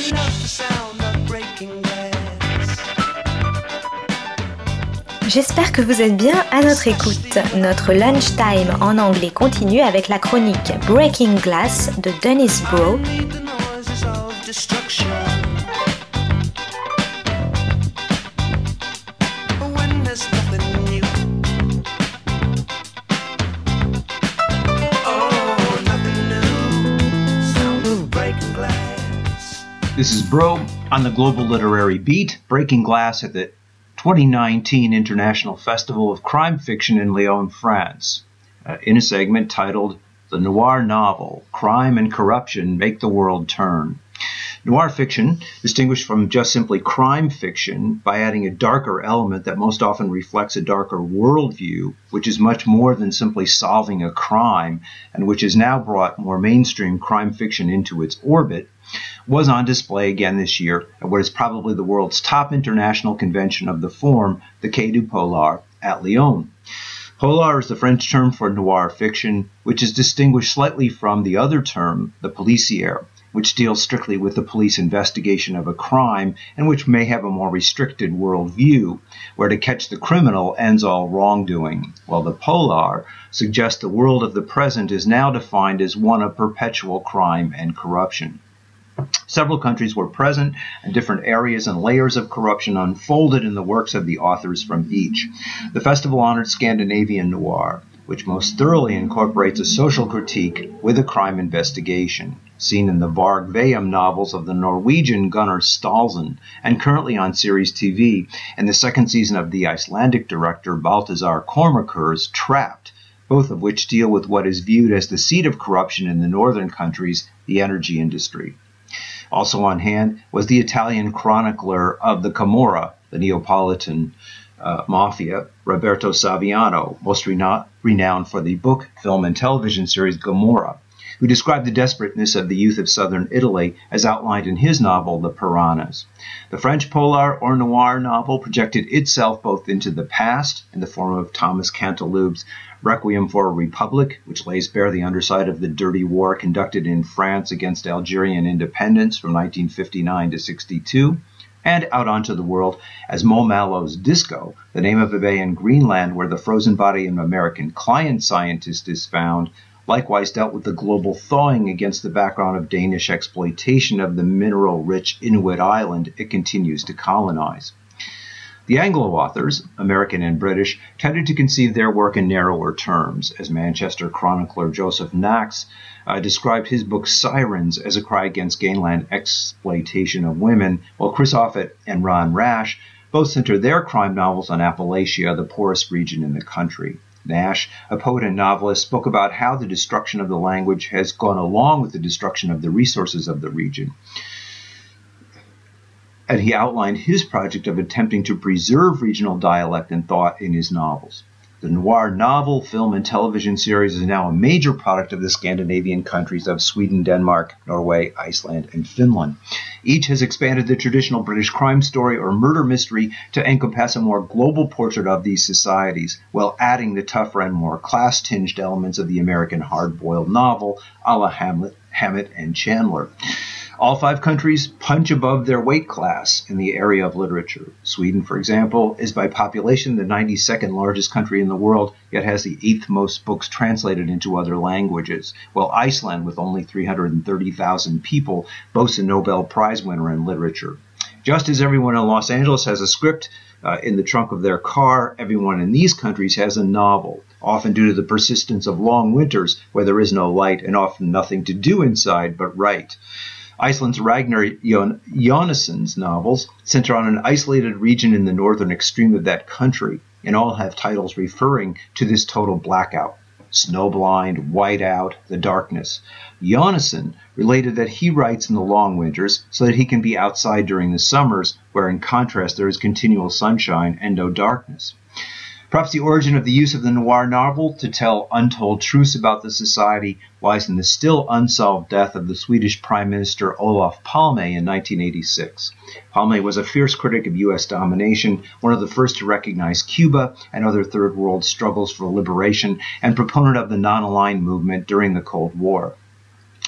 J'espère que vous êtes bien à notre écoute. Notre lunchtime en anglais continue avec la chronique Breaking Glass de Dennis Bro. This is Bro on the Global Literary Beat, breaking glass at the 2019 International Festival of Crime Fiction in Lyon, France, in a segment titled The Noir Novel, Crime and Corruption Make the World Turn. Noir fiction, distinguished from just simply crime fiction by adding a darker element that most often reflects a darker worldview, which is much more than simply solving a crime, and which has now brought more mainstream crime fiction into its orbit, was on display again this year at what is probably the world's top international convention of the form, the Quai du Polar, at Lyon. Polar is the French term for noir fiction, which is distinguished slightly from the other term, the policière, which deals strictly with the police investigation of a crime and which may have a more restricted worldview, where to catch the criminal ends all wrongdoing, while the polar suggests the world of the present is now defined as one of perpetual crime and corruption. Several countries were present, and different areas and layers of corruption unfolded in the works of the authors from each. The festival honored Scandinavian noir, which most thoroughly incorporates a social critique with a crime investigation, seen in the Varg Veum novels of the Norwegian Gunnar Staalsen, and currently on series TV in the second season of the Icelandic director Baltasar Kormakur's Trapped, both of which deal with what is viewed as the seat of corruption in the northern countries, the energy industry. Also on hand was the Italian chronicler of the Camorra, the Neapolitan mafia, Roberto Saviano, most renowned for the book, film, and television series Gomorrah, who described the desperateness of the youth of southern Italy as outlined in his novel, The Piranhas. The French polar or noir novel projected itself both into the past in the form of Thomas Canteloube's Requiem for a Republic, which lays bare the underside of the dirty war conducted in France against Algerian independence from 1959 to 62, and out onto the world as Mo Mallow's Disco, the name of a bay in Greenland where the frozen body of an American client scientist is found, likewise dealt with the global thawing against the background of Danish exploitation of the mineral-rich Inuit island it continues to colonize. The Anglo authors, American and British, tended to conceive their work in narrower terms, as Manchester chronicler Joseph Knox described his book Sirens as a cry against gangland exploitation of women, while Chris Offutt and Ron Rash both center their crime novels on Appalachia, the poorest region in the country. Nash, a poet and novelist, spoke about how the destruction of the language has gone along with the destruction of the resources of the region. And he outlined his project of attempting to preserve regional dialect and thought in his novels. The noir novel, film, and television series is now a major product of the Scandinavian countries of Sweden, Denmark, Norway, Iceland, and Finland. Each has expanded the traditional British crime story or murder mystery to encompass a more global portrait of these societies, while adding the tougher and more class-tinged elements of the American hard-boiled novel, a la Hammett and Chandler. All 5 countries punch above their weight class in the area of literature. Sweden, for example, is by population the 92nd largest country in the world, yet has the 8th most books translated into other languages, while Iceland, with only 330,000 people, boasts a Nobel Prize winner in literature. Just as everyone in Los Angeles has a script in the trunk of their car, everyone in these countries has a novel, often due to the persistence of long winters where there is no light and often nothing to do inside but write. Iceland's Ragnar Jonason's novels center on an isolated region in the northern extreme of that country, and all have titles referring to this total blackout. Snowblind, Whiteout, The Darkness. Jonason related that he writes in the long winters so that he can be outside during the summers, where in contrast there is continual sunshine and no darkness. Perhaps the origin of the use of the noir novel to tell untold truths about the society lies in the still unsolved death of the Swedish Prime Minister Olof Palme in 1986. Palme was a fierce critic of U.S. domination, one of the first to recognize Cuba and other Third World struggles for liberation, and proponent of the non-aligned movement during the Cold War.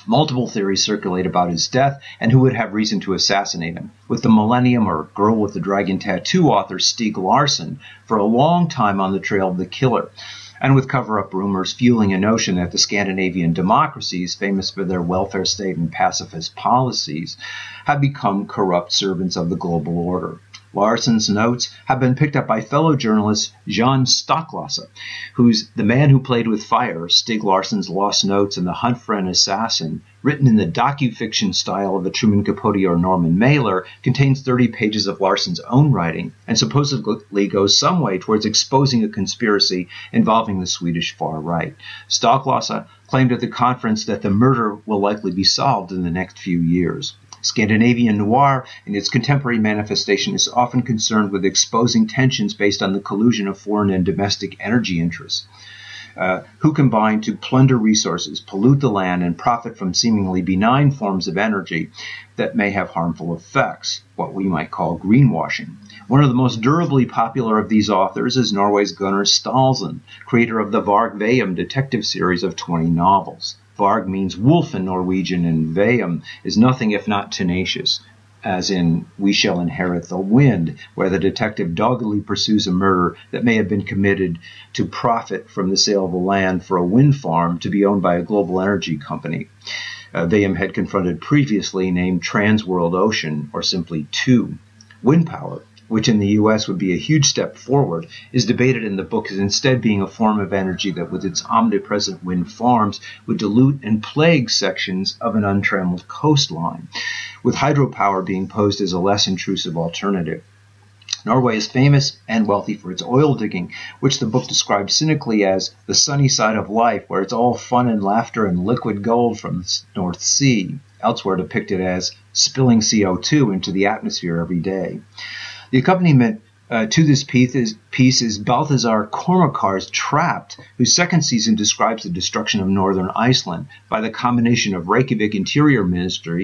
Multiple theories circulate about his death and who would have reason to assassinate him, with the Millennium or Girl with the Dragon Tattoo author Stieg Larsson for a long time on the trail of the killer, and with cover-up rumors fueling a notion that the Scandinavian democracies, famous for their welfare state and pacifist policies, have become corrupt servants of the global order. Larsson's notes have been picked up by fellow journalist Jan Stocklasa, who's The Man Who Played with Fire, Stieg Larsson's Lost Notes and The Hunt for an Assassin, written in the docu-fiction style of a Truman Capote or Norman Mailer, contains 30 pages of Larsson's own writing and supposedly goes some way towards exposing a conspiracy involving the Swedish far right. Stocklasa claimed at the conference that the murder will likely be solved in the next few years. Scandinavian noir, in its contemporary manifestation, is often concerned with exposing tensions based on the collusion of foreign and domestic energy interests, who combine to plunder resources, pollute the land, and profit from seemingly benign forms of energy that may have harmful effects, what we might call greenwashing. One of the most durably popular of these authors is Norway's Gunnar Staalsen, creator of the Varg Veum detective series of 20 novels. Varg means wolf in Norwegian, and Veum is nothing if not tenacious, as in We Shall Inherit the Wind, where the detective doggedly pursues a murder that may have been committed to profit from the sale of a land for a wind farm to be owned by a global energy company. Veum had confronted previously named Transworld Ocean, or simply TWO. Wind power, which in the U.S. would be a huge step forward, is debated in the book as instead being a form of energy that with its omnipresent wind farms would dilute and plague sections of an untrammeled coastline, with hydropower being posed as a less intrusive alternative. Norway is famous and wealthy for its oil digging, which the book describes cynically as the sunny side of life, where it's all fun and laughter and liquid gold from the North Sea, elsewhere depicted as spilling CO2 into the atmosphere every day. The accompaniment to this piece is Balthazar Kormakar's Trapped, whose second season describes the destruction of northern Iceland by the combination of Reykjavik Interior Minister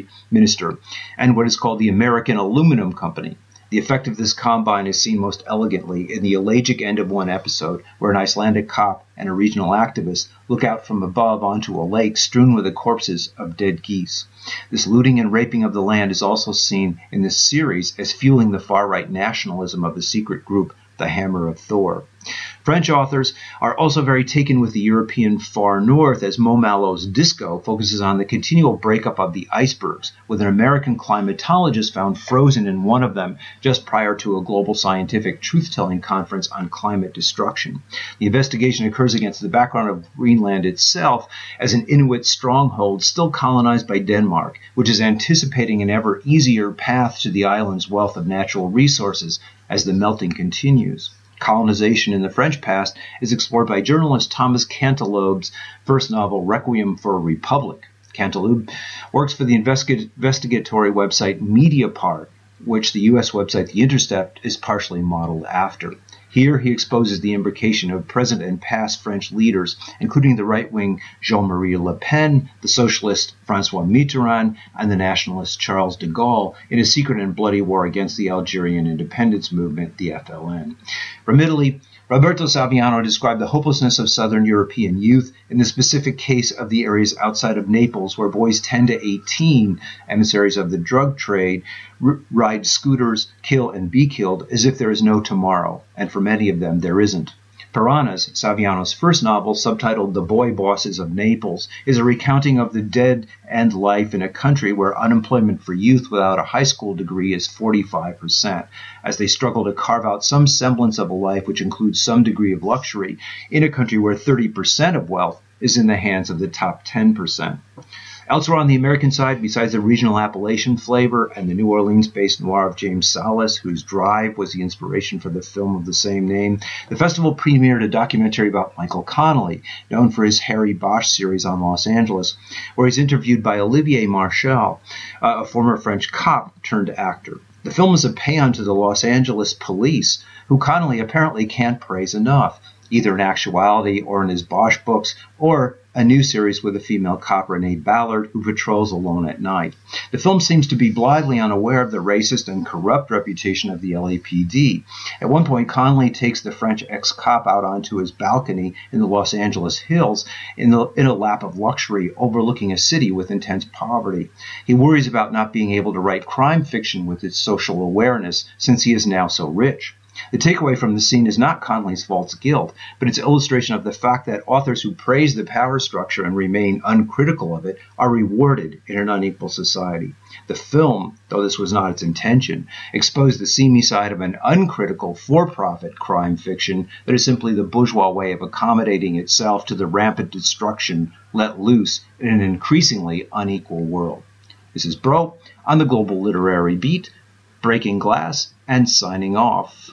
and what is called the American Aluminum Company. The effect of this combine is seen most elegantly in the elegiac end of one episode, where an Icelandic cop and a regional activist look out from above onto a lake strewn with the corpses of dead geese. This looting and raping of the land is also seen in this series as fueling the far-right nationalism of the secret group, the Hammer of Thor. French authors are also very taken with the European far north, as Mo Mallow's Disco focuses on the continual breakup of the icebergs, with an American climatologist found frozen in one of them just prior to a global scientific truth-telling conference on climate destruction. The investigation occurs against the background of Greenland itself as an Inuit stronghold still colonized by Denmark, which is anticipating an ever easier path to the island's wealth of natural resources as the melting continues. Colonization in the French past is explored by journalist Thomas Canteloub's first novel, Requiem for a Republic. Canteloub works for the investigatory website Mediapart, which the U.S. website The Intercept is partially modeled after. Here he exposes the imbrication of present and past French leaders, including the right-wing Jean-Marie Le Pen, the socialist François Mitterrand, and the nationalist Charles de Gaulle, in a secret and bloody war against the Algerian independence movement, the FLN. From Italy, Roberto Saviano described the hopelessness of Southern European youth in the specific case of the areas outside of Naples, where boys 10 to 18, emissaries of the drug trade, ride scooters, kill and be killed as if there is no tomorrow, and for many of them there isn't. Piranhas, Saviano's first novel, subtitled The Boy Bosses of Naples, is a recounting of the dead-end life in a country where unemployment for youth without a high school degree is 45%, as they struggle to carve out some semblance of a life which includes some degree of luxury in a country where 30% of wealth is in the hands of the top 10%. Elsewhere on the American side, besides the regional Appalachian flavor and the New Orleans-based noir of James Salas, whose Drive was the inspiration for the film of the same name, the festival premiered a documentary about Michael Connelly, known for his Harry Bosch series on Los Angeles, where he's interviewed by Olivier Marchal, a former French cop turned actor. The film is a paean to the Los Angeles police, who Connelly apparently can't praise enough, either in actuality or in his Bosch books, or a new series with a female cop, Renee Ballard, who patrols alone at night. The film seems to be blithely unaware of the racist and corrupt reputation of the LAPD. At one point, Connolly takes the French ex-cop out onto his balcony in the Los Angeles hills in a lap of luxury overlooking a city with intense poverty. He worries about not being able to write crime fiction with its social awareness since he is now so rich. The takeaway from the scene is not Connolly's false guilt, but its illustration of the fact that authors who praise the power structure and remain uncritical of it are rewarded in an unequal society. The film, though this was not its intention, exposed the seamy side of an uncritical, for-profit crime fiction that is simply the bourgeois way of accommodating itself to the rampant destruction let loose in an increasingly unequal world. This is Bro on the Global Literary Beat, breaking glass and signing off.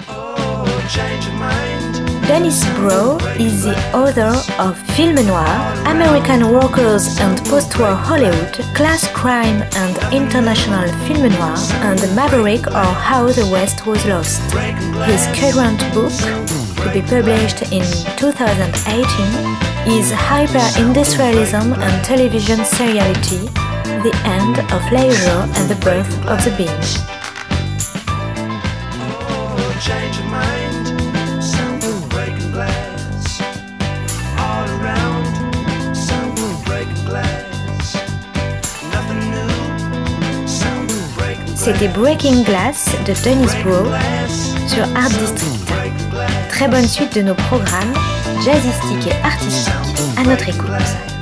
Dennis Bro is the author of Film Noir, American Workers and Post-War Hollywood, Class Crime and International Film Noir, and Maverick or How the West Was Lost. His current book, to be published in 2018, is Hyper-Industrialism and Television Seriality, The End of Leisure and the Birth of the Binge. Change your mind, sound of breaking glass. All around, sound of breaking glass. Nothing new, sound of breaking glass. C'était Breaking Glass de Dennis Bro sur Art District. Très bonne suite de nos programmes jazzistiques et artistiques à notre écoute.